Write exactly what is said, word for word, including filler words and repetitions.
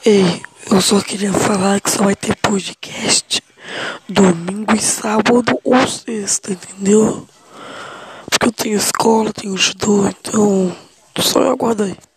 Ei, eu só queria falar que só vai ter podcast domingo e sábado ou sexta, entendeu? Porque eu tenho escola, tenho judô, então só eu aguardo aí.